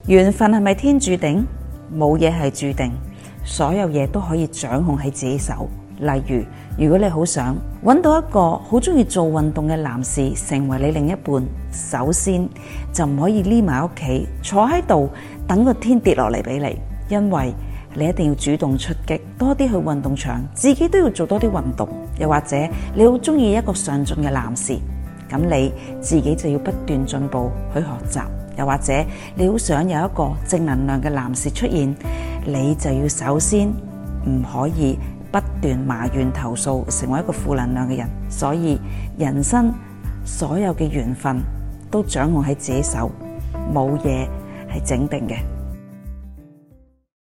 緣分係咪天注定？冇嘢係注定，所有嘢都可以掌控喺自己手。例如果你好想揾到一個好中意做運動嘅男士成為你另一半，首先就唔可以匿埋屋企坐喺度等個天跌落嚟俾你，因為你一定要主動出擊，多啲去運動場，自己都要做多啲運動。又或者你好中意一個上進嘅男士，咁你自己就要不斷進步去學習。又或者你好想有一個正能量嘅男士出現，你就要首先唔可以不斷埋怨投訴，成為一個負能量嘅人。所以人生所有嘅緣分都掌控喺自己手，冇嘢係整定嘅。